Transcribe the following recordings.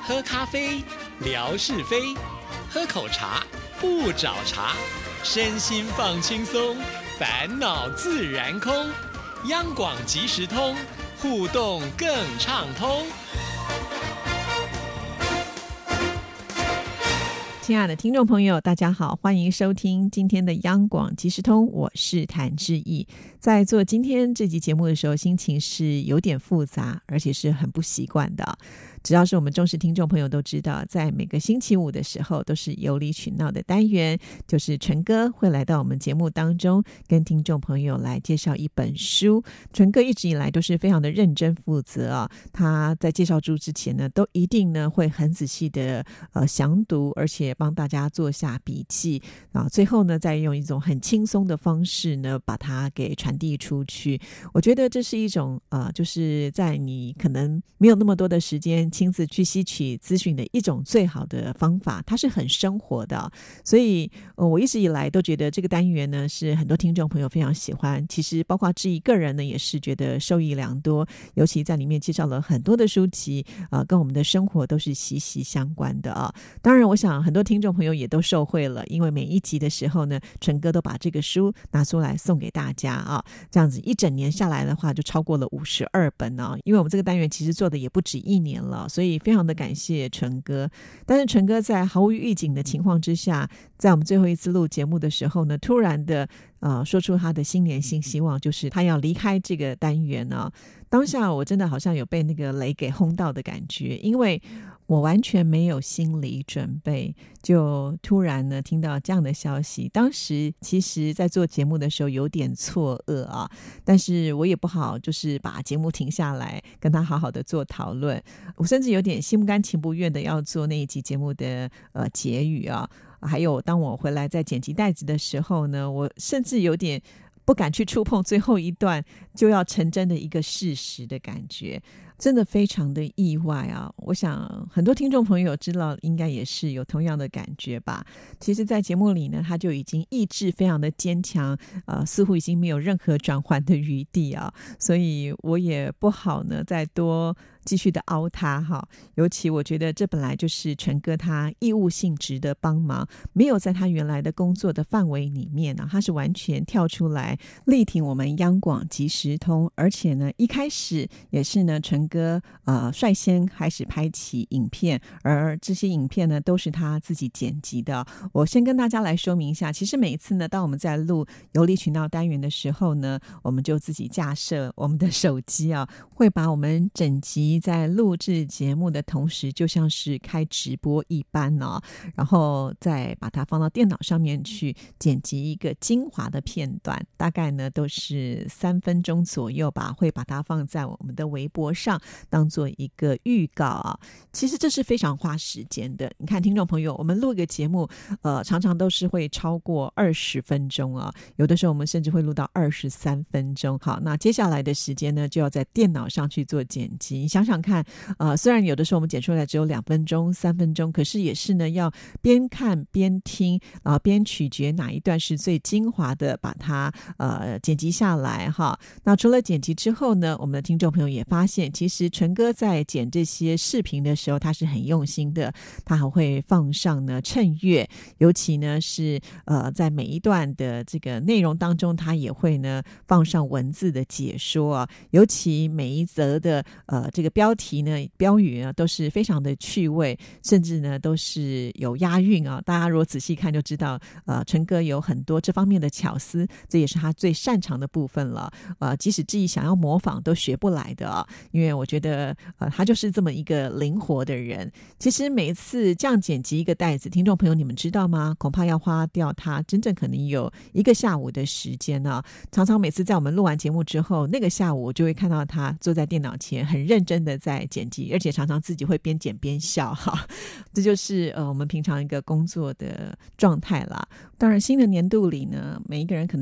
喝咖啡，聊是非；喝口茶，不找茬。身心放轻松，烦恼自然空。央广即时通，互动更畅通。 亲爱的听众朋友，大家好，欢迎收听今天的央广即时通，我是谭志毅。在做今天这集节目的时候，心情是有点复杂，而且是很不习惯的。只要是我们忠实听众朋友都知道，在每个星期五的时候都是有理取闹的单元，就是纯哥会来到我们节目当中，跟听众朋友来介绍一本书。纯哥一直以来都是非常的认真负责啊，他在介绍书之前呢，都一定呢会很仔细的详读，而且帮大家做下笔记啊，最后呢再用一种很轻松的方式呢把它给传递出去。我觉得这是一种就是在你可能没有那么多的时间亲自去吸取资讯的一种最好的方法，它是很生活的。所以我一直以来都觉得这个单元呢是很多听众朋友非常喜欢，其实包括志毅个人呢也是觉得受益良多，尤其在里面介绍了很多的书籍跟我们的生活都是息息相关的啊。当然我想很多听众朋友也都受惠了，因为每一集的时候呢，纯哥都把这个书拿出来送给大家啊，这样子一整年下来的话就超过了52本啊。因为我们这个单元其实做的也不止1年了，所以非常的感谢纯哥。但是纯哥在毫无预警的情况之下，在我们最后一次录节目的时候呢，突然的说出他的新年新希望，就是他要离开这个单元啊。当下我真的好像有被那个雷给轰到的感觉，因为我完全没有心理准备，就突然呢听到这样的消息。当时其实在做节目的时候有点错愕啊，但是我也不好就是把节目停下来跟他好好的做讨论，我甚至有点心不甘情不愿的要做那一集节目的结语啊。还有当我回来在剪辑带子的时候呢，我甚至有点不敢去触碰最后一段就要成真的一个事实的感觉，真的非常的意外啊！我想很多听众朋友知道应该也是有同样的感觉吧。其实在节目里呢，他就已经意志非常的坚强，似乎已经没有任何转换的余地啊，所以我也不好呢再多继续的凹他哈。尤其我觉得这本来就是纯哥他义务性质的帮忙，没有在他原来的工作的范围里面呢，他是完全跳出来力挺我们央广即时通，而且呢一开始也是呢纯哥率先开始拍起影片，而这些影片呢都是他自己剪辑的。我先跟大家来说明一下，其实每一次呢当我们在录有理取闹单元的时候呢，我们就自己架设我们的手机啊，会把我们整集在录制节目的同时就像是开直播一般哦，然后再把它放到电脑上面去剪辑一个精华的片段，大概呢都是3分钟左右吧，会把它放在我们的微博上当做一个预告啊。其实这是非常花时间的，你看听众朋友，我们录一个节目常常都是会超过20分钟啊，有的时候我们甚至会录到23分钟。好，那接下来的时间呢就要在电脑上去做剪辑，你想想看虽然有的时候我们剪出来只有2分钟3分钟，可是也是呢要边看边听边取决哪一段是最精华的，把它剪辑下来哈。那除了剪辑之后呢，我们的听众朋友也发现其实纯哥在剪这些视频的时候他是很用心的，他还会放上呢衬乐，尤其呢是在每一段的这个内容当中他也会呢放上文字的解说啊，尤其每一则的这个标题呢标语呢都是非常的趣味，甚至呢都是有押韵啊。大家如果仔细看就知道纯哥有很多这方面的巧思，这也是他最擅长的部分了。即使自己想要模仿都学不来的啊，因为我觉得他就是这么一个灵活的人。其实每一次这样剪辑一个带子，听众朋友你们知道吗？恐怕要花掉他真正可能有1个下午的时间啊。常常每次在我们录完节目之后，那个下午我就会看到他坐在电脑前很认真的在剪辑，而且常常自己会边剪边笑哈。这就是我们平常一个工作的状态啦。当然新的年度里呢，每一个人可能在工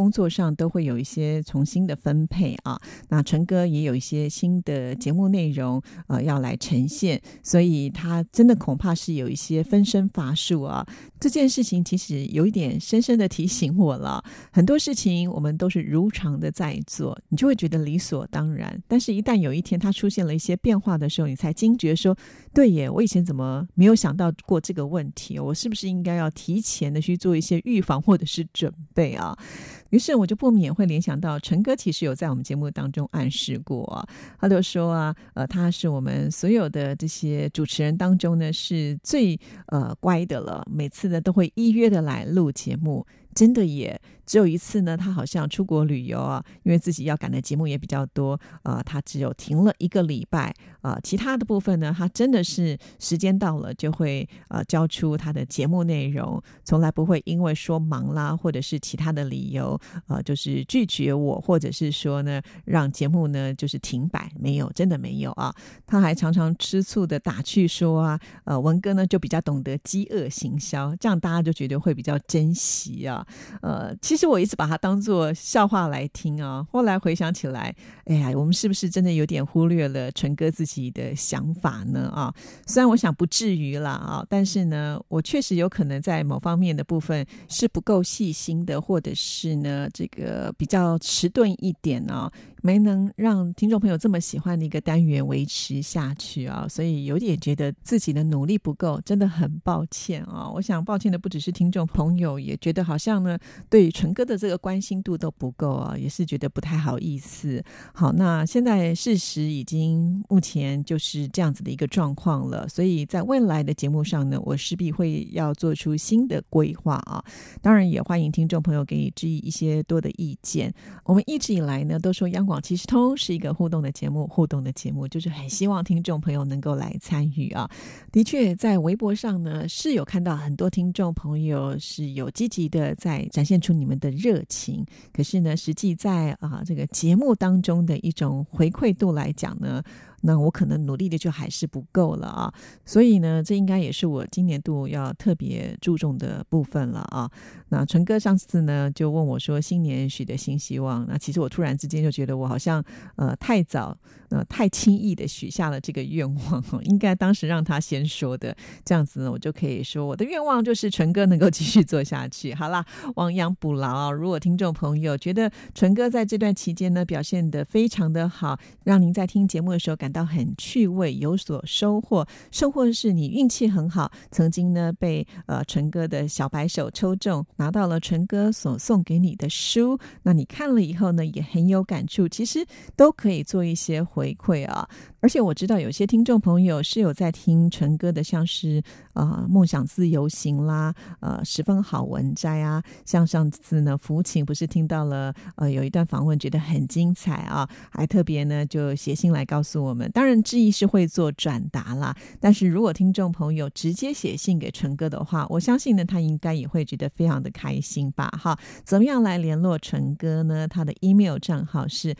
工作上都会有一些重新的分配啊。那纯哥也有一些新的节目内容要来呈现，所以他真的恐怕是有一些分身乏术啊。这件事情其实有一点深深的提醒我了，很多事情我们都是如常的在做，你就会觉得理所当然，但是一旦有一天它出现了一些变化的时候，你才惊觉说，对耶，我以前怎么没有想到过这个问题，我是不是应该要提前的去做一些预防或者是准备啊？于是我就不免会联想到纯哥其实有在我们节目当中暗示过啊，他就说啊，他是我们所有的这些主持人当中呢是最乖的了，每次呢都会依约的来录节目。真的也只有一次呢，他好像出国旅游啊，因为自己要赶的节目也比较多，他只有停了1个礼拜，其他的部分呢，他真的是时间到了就会交出他的节目内容，从来不会因为说忙啦或者是其他的理由就是拒绝我，或者是说呢让节目呢就是停摆，没有，真的没有啊。他还常常吃醋的打趣说啊，文哥呢就比较懂得饥饿行销，这样大家就觉得会比较珍惜啊。其实我一直把它当作笑话来听啊，后来回想起来，哎呀，我们是不是真的有点忽略了纯哥自己的想法呢啊？虽然我想不至于啦啊，但是呢，我确实有可能在某方面的部分是不够细心的，或者是呢这个比较迟钝一点啊，没能让听众朋友这么喜欢的一个单元维持下去啊，所以有点觉得自己的努力不够，真的很抱歉啊。我想抱歉的不只是听众朋友，也觉得好像呢对纯哥的这个关心度都不够啊，也是觉得不太好意思。好，那现在事实已经目前就是这样子的一个状况了，所以在未来的节目上呢，我势必会要做出新的规划啊。当然也欢迎听众朋友给予质疑一些多的意见。我们一直以来呢都说央广即时通是一个互动的节目，就是很希望听众朋友能够来参与啊。的确在微博上呢是有看到很多听众朋友是有积极的在展现出你们的热情，可是呢实际在这个节目当中的一种回馈度来讲呢，那我可能努力的就还是不够了啊，所以呢这应该也是我今年度要特别注重的部分了啊。那纯哥上次呢就问我说新年许的新希望，那其实我突然之间就觉得我好像太早太轻易的许下了这个愿望，应该当时让他先说的，这样子呢我就可以说我的愿望就是纯哥能够继续做下去。好啦，亡羊补牢啊，如果听众朋友觉得纯哥在这段期间呢表现得非常的好，让您在听节目的时候感到很趣味，有所收获，甚或是你运气很好，曾经呢被纯哥的小白手抽中，拿到了纯哥所送给你的书，那你看了以后呢也很有感触，其实都可以做一些回馈啊。而且我知道有些听众朋友是有在听纯哥的，像是梦想自由行啦，十分好文摘啊，像上次呢福琴不是听到了有一段访问觉得很精彩啊，还特别呢就写信来告诉我们，当然志毅是会做转达啦，但是如果听众朋友直接写信给纯哥的话，我相信呢他应该也会觉得非常的开心吧。哈，怎么样来联络纯哥呢？他的 email 账号是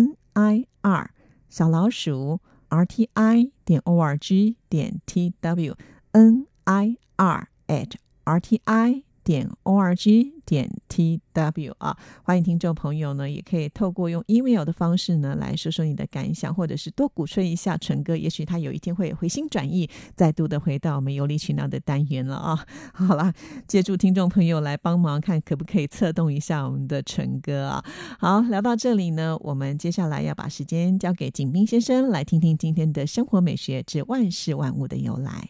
nir@rti.org.tw nir@rti.org.tw 啊，欢迎听众朋友呢也可以透过用 email 的方式呢来说说你的感想，或者是多鼓吹一下纯哥，也许他有一天会回心转意，再度的回到我们有理取闹的单元了啊。好啦，借助听众朋友来帮忙看可不可以策动一下我们的纯哥啊。好，聊到这里呢，我们接下来要把时间交给景斌先生，来听听今天的生活美学之万事万物的由来。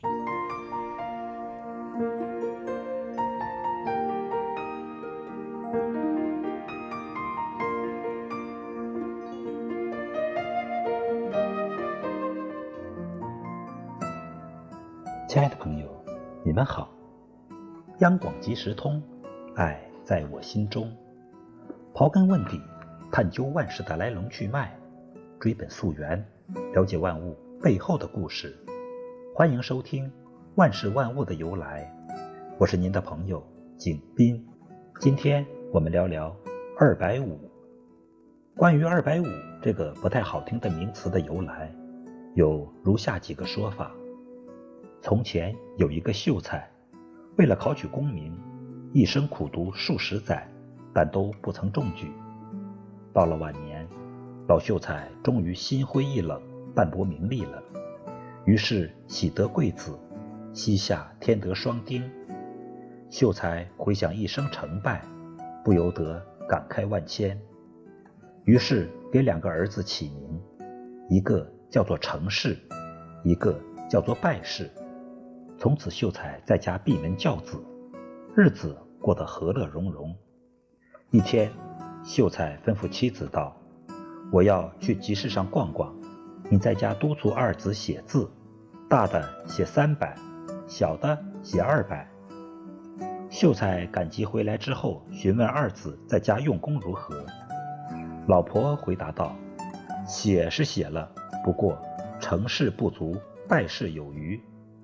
亲爱的朋友，你们好。央广即时通，爱在我心中。刨根问底，探究万事的来龙去脉，追本溯源，了解万物背后的故事。欢迎收听《万事万物的由来》，我是您的朋友景斌。今天我们聊聊250。关于250这个不太好听的名词的由来，有如下几个说法。从前有一个秀才，为了考取功名，一生苦读数十载， 但都不曾中举。到了晚年，老秀才终于心灰意冷，淡泊名利了。于是喜得贵子，膝下添得双丁。秀才回想一生成败，不由得感慨万千。于是给2个儿子起名，一个叫做成氏，一个叫做败氏。从此秀才在家闭门教子，日子过得和乐融融。一天，秀才吩咐妻子道：我要去集市上逛逛，你在家督促二子写字，大的写300，小的写200。秀才赶集回来之后，询问二子在家用功如何。老婆回答道：写是写了，不过成事不足，败事有余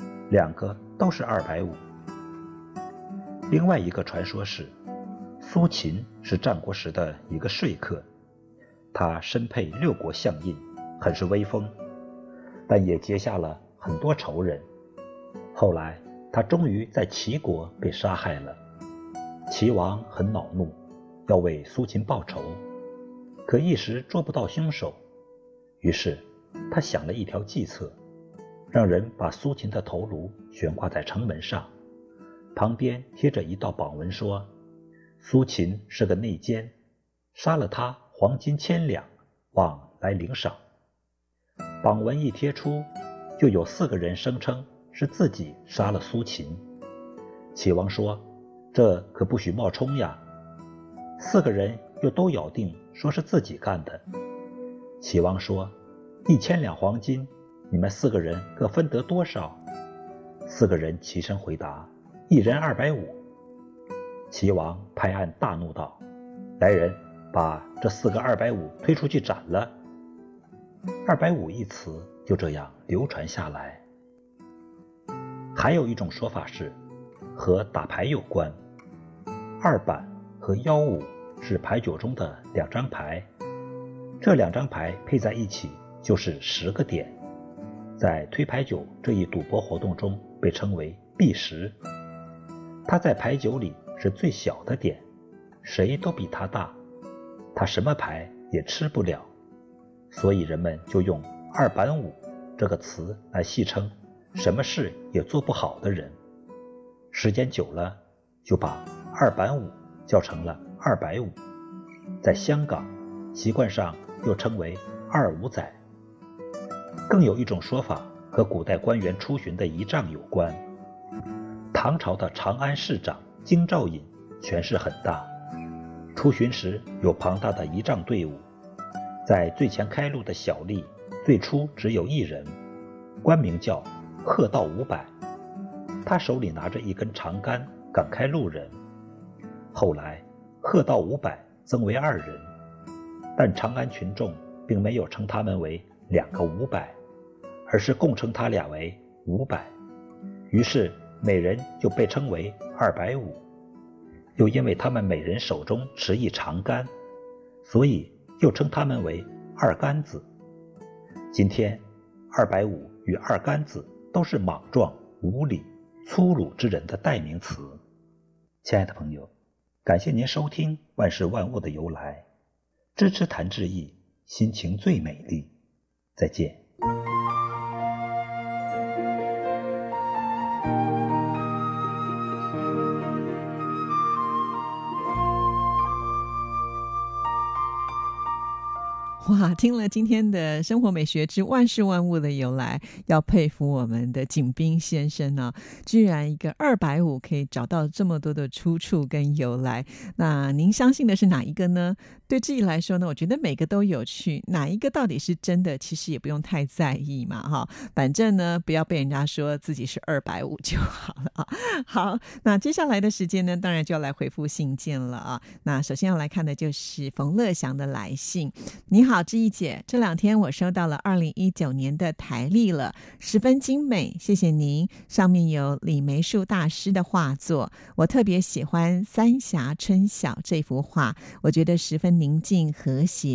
，2个都是250。另外一个传说是，苏秦是战国时的一个说客，他身配6国相印，很是威风，但也结下了很多仇人。后来他终于在齐国被杀害了。齐王很恼怒，要为苏秦报仇，可一时捉不到凶手。于是他想了一条计策，让人把苏秦的头颅悬挂在城门上，旁边贴着一道榜文，说苏秦是个内奸，杀了他黄金1000两，望来领赏。榜文一贴出，就有4个人声称是自己杀了苏秦。齐王说，这可不许冒充呀。4个人又都咬定说是自己干的。齐王说，1000两黄金，你们4个人各分得多少？4个人齐声回答，1人250。齐王拍案大怒道，来人，把这4个250推出去斩了。250一词就这样流传下来。还有一种说法是和打牌有关，2板和15是牌九中的2张牌，这2张牌配在一起就是10个点，在推牌九这一赌博活动中被称为B10。它在牌九里是最小的点，谁都比它大，它什么牌也吃不了，所以人们就用2板5这个词来戏称什么事也做不好的人。时间久了，就把2板5叫成了250。在香港，习惯上又称为25仔。更有一种说法和古代官员出巡的仪仗有关。唐朝的长安市长京兆尹权势很大，出巡时有庞大的仪仗队伍，在最前开路的小吏最初只有1人，官名叫贺道500，他手里拿着一根长杆赶开路人。后来贺道500增为2人，但长安群众并没有称他们为2个500，而是共称他俩为500，于是每人就被称为250。又因为他们每人手中持一长杆，所以又称他们为2杆子。今天250与2杆子都是莽撞、无礼、粗鲁之人的代名词。亲爱的朋友，感谢您收听万事万物的由来，支持谭志毅，心情最美丽。再见。 哇，听了今天的生活美学之万事万物的由来，要佩服我们的景斌先生呢，居然一个250可以找到这么多的出处跟由来。那您相信的是哪一个呢？对自己来说呢，我觉得每个都有趣，哪一个到底是真的，其实也不用太在意嘛，哈，反正呢，不要被人家说自己是250就好了啊。好，那接下来的时间呢，当然就要来回复信件了啊。那首先要来看的就是冯乐祥的来信。你好，志毅姐，这2天我收到了2019年的台历了，十分精美，谢谢您。上面有李梅树大师的画作，我特别喜欢三峡春晓这幅画，我觉得十分宁静和谐。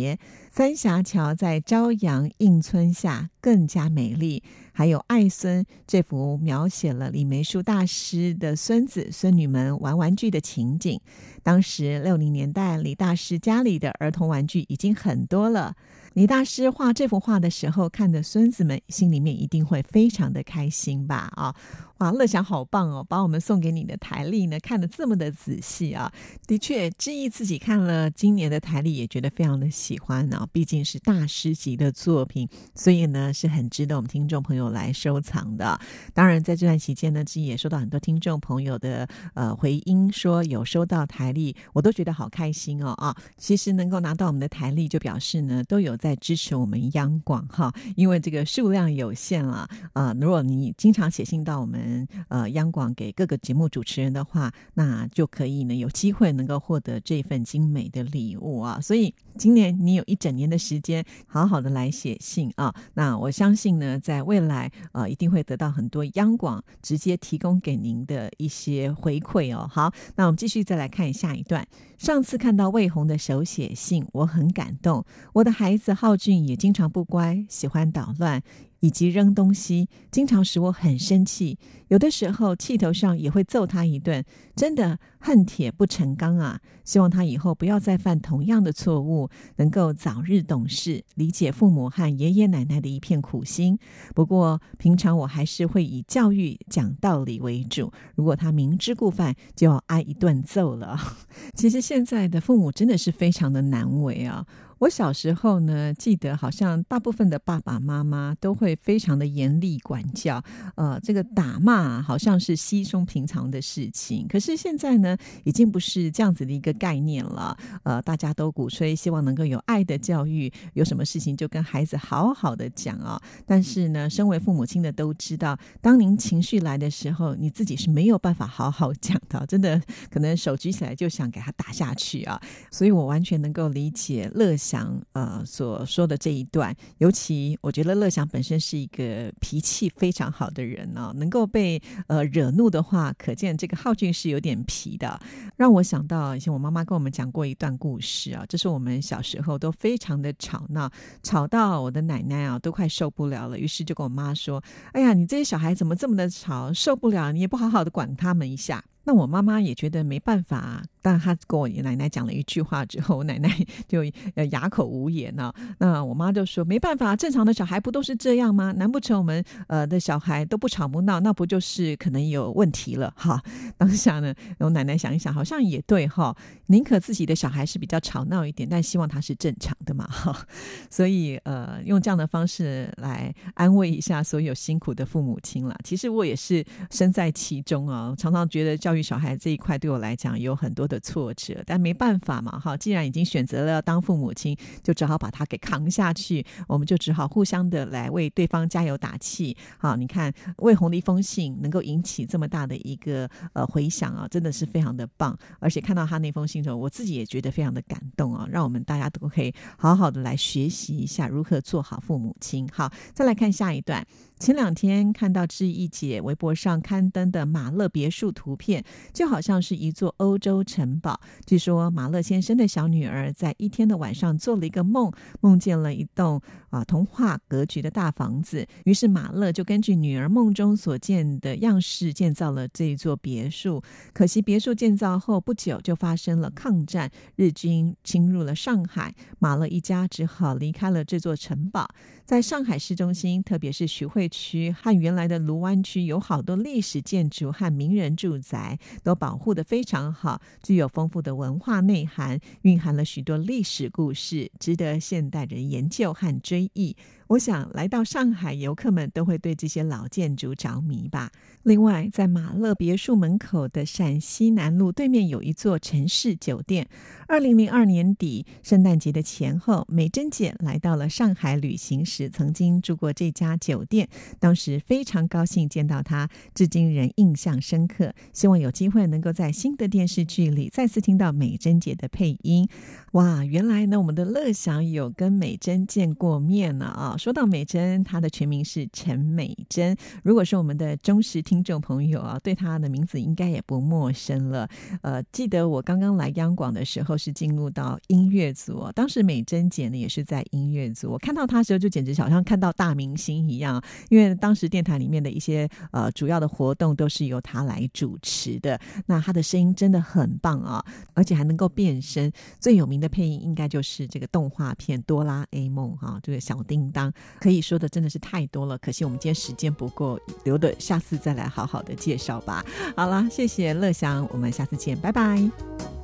三峡桥在朝阳映村下更加美丽，还有爱孙这幅描写了李梅树大师的孙子孙女们玩玩具的情景。当时60年代李大师家里的儿童玩具已经很多了，李大师画这幅画的时候，看的孙子们心里面一定会非常的开心吧哇，乐享好棒哦，把我们送给你的台历呢看得这么的仔细啊。的确，志毅自己看了今年的台历也觉得非常的喜欢毕竟是大师级的作品，所以呢是很值得我们听众朋友来收藏的。当然在这段期间呢，志毅也收到很多听众朋友的回音，说有收到台历，我都觉得好开心其实能够拿到我们的台历，就表示呢都有在支持我们央广因为这个数量有限了如果你经常写信到我们央广给各个节目主持人的话，那就可以呢有机会能够获得这份精美的礼物所以今年你有一整年的时间好好的来写信那我相信呢在未来一定会得到很多央广直接提供给您的一些回馈好，那我们继续再来看下一段。上次看到魏红的手写信，我很感动。我的孩子浩俊也经常不乖，喜欢捣乱以及扔东西，经常使我很生气，有的时候气头上也会揍他一顿，真的恨铁不成钢啊！希望他以后不要再犯同样的错误，能够早日懂事，理解父母和爷爷奶奶的一片苦心。不过平常我还是会以教育讲道理为主，如果他明知故犯，就要挨一顿揍了。其实现在的父母真的是非常的难为我小时候呢，记得好像大部分的爸爸妈妈都会非常的严厉管教，这个打骂好像是稀松平常的事情。可是现在呢，已经不是这样子的一个概念了。大家都鼓吹希望能够有爱的教育，有什么事情就跟孩子好好的讲但是呢，身为父母亲的都知道，当您情绪来的时候，你自己是没有办法好好讲的，真的可能手举起来就想给他打下去所以我完全能够理解乐祥所说的这一段，尤其我觉得乐祥本身是一个脾气非常好的人能够被惹怒的话，可见这个浩俊是有点皮的。让我想到以前我妈妈跟我们讲过一段故事这是我们小时候都非常的吵闹，吵到我的奶奶都快受不了了，于是就跟我妈说，哎呀，你这些小孩怎么这么的吵，受不了，你也不好好的管他们一下。那我妈妈也觉得没办法但她跟我奶奶讲了一句话之后，我奶奶就哑口无言那我妈就说，没办法，正常的小孩不都是这样吗？难不成我们的小孩都不吵不闹，那不就是可能有问题了当下呢，我奶奶想一想，好像也对宁可自己的小孩是比较吵闹一点，但希望他是正常的嘛所以用这样的方式来安慰一下所有辛苦的父母亲啦。其实我也是身在其中常常觉得教育小孩这一块对我来讲有很多的挫折，但没办法嘛既然已经选择了要当父母亲，就只好把它给扛下去，我们就只好互相的来为对方加油打气你看魏红的一封信能够引起这么大的一个回响真的是非常的棒。而且看到他那封信的时候，我自己也觉得非常的感动让我们大家都可以好好的来学习一下如何做好父母亲。好，再来看下一段。前2天看到志毅姐微博上刊登的马勒别墅图片，就好像是一座欧洲城堡。据说马勒先生的小女儿在一天的晚上做了一个梦，梦见了一栋童话格局的大房子，于是马勒就根据女儿梦中所见的样式建造了这一座别墅。可惜别墅建造后不久就发生了抗战，日军侵入了上海，马勒一家只好离开了这座城堡。在上海市中心，特别是徐汇区和原来的卢湾区，有好多历史建筑和名人住宅，都保护得非常好，具有丰富的文化内涵，蕴含了许多历史故事，值得现代人研究和追忆。我想来到上海，游客们都会对这些老建筑着迷吧。另外，在马勒别墅门口的陕西南路对面有一座城市酒店。2002年底圣诞节的前后，美珍姐来到了上海旅行时曾经住过这家酒店，当时非常高兴见到她，至今仍印象深刻。希望有机会能够在新的电视剧里再次听到美珍姐的配音。哇，原来呢我们的乐祥有跟美珍见过面呢说到美珍，她的全名是陈美珍，如果是我们的忠实听众朋友啊，对她的名字应该也不陌生了。记得我刚刚来央广的时候是进入到音乐组，当时美珍姐呢也是在音乐组，我看到她的时候就简直好像看到大明星一样，因为当时电台里面的一些主要的活动都是由她来主持的，那她的声音真的很棒啊，而且还能够变声。最有名的配音应该就是这个动画片哆啦 A 梦这个小叮当，可以说的真的是太多了，可惜我们今天时间不够，留的下次再来好好的介绍吧。好啦，谢谢乐祥，我们下次见，拜拜。